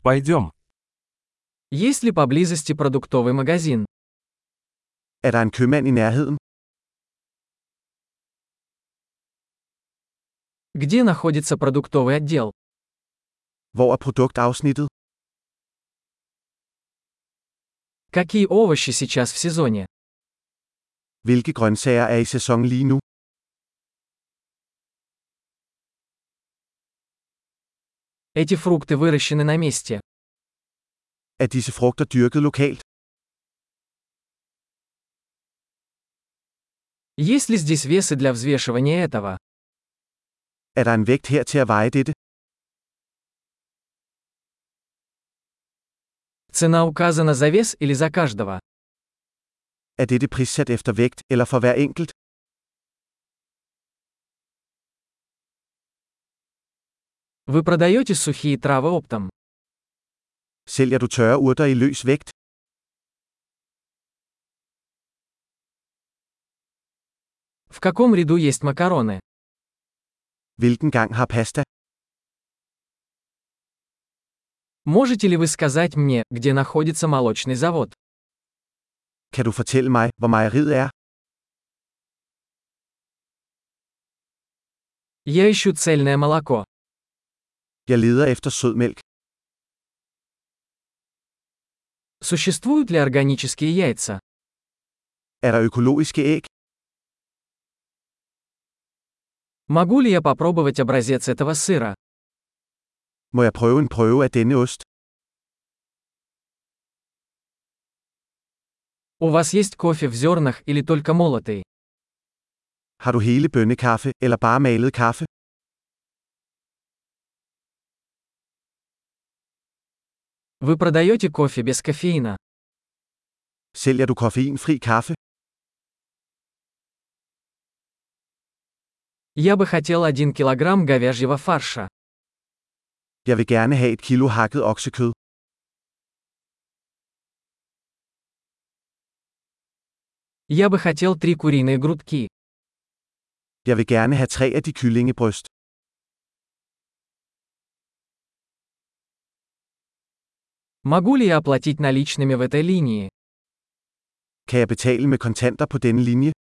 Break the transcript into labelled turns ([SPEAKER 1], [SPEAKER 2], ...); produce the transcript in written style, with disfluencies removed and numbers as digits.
[SPEAKER 1] Пойдем.
[SPEAKER 2] Есть ли поблизости продуктовый магазин?
[SPEAKER 3] Er der en købmand i nærheden?
[SPEAKER 2] Где находится продуктовый отдел?
[SPEAKER 3] Hvor er produktafsnittet?
[SPEAKER 2] Какие овощи сейчас в сезоне?
[SPEAKER 3] Hvilke grøntsager er i sæson lige nu?
[SPEAKER 2] Эти фрукты выращены на месте.
[SPEAKER 3] Er disse frugter dyrket lokalt?
[SPEAKER 2] Есть ли здесь весы для взвешивания этого?
[SPEAKER 3] Er der en vægt her til at veje dette?
[SPEAKER 2] Цена указана за вес или за каждого?
[SPEAKER 3] Er dette prissat efter vægt, eller for hver enkelt?
[SPEAKER 2] Вы продаете сухие травы оптом?
[SPEAKER 3] Sælger du tørre urter i løs vægt?
[SPEAKER 2] В каком ряду есть макароны?
[SPEAKER 3] Hvilken gang har pasta?
[SPEAKER 2] Можете ли вы сказать мне, где находится молочный завод?
[SPEAKER 3] Kan du fortælle mig, hvor mejeriet er?
[SPEAKER 2] Я ищу цельное молоко.
[SPEAKER 3] Jeg leder efter sødmælk.
[SPEAKER 2] Существуют ли органические яйца?
[SPEAKER 3] Er der økologiske æg?
[SPEAKER 2] Могу ли я попробовать образец этого сыра?
[SPEAKER 3] Må jeg prøve en prøve af denne ost?
[SPEAKER 2] У вас есть кофе в зернах или только молотый?
[SPEAKER 3] Har du hele bønnekaffe, eller bare malet kaffe?
[SPEAKER 2] Вы продаете кофе без кофеина?
[SPEAKER 3] Sælger du koffeinfri kaffe?
[SPEAKER 2] Я бы хотел 1 килограмм говяжьего фарша.
[SPEAKER 3] Jeg vil gerne have et kilo hakket oksekød.
[SPEAKER 2] Я бы хотел 3 куриные грудки.
[SPEAKER 3] Jeg vil gerne have 3 af de kyllingebryst.
[SPEAKER 2] Могу ли я оплатить наличными в этой линии?
[SPEAKER 3] Kan jeg betale med kontanter på denne linje?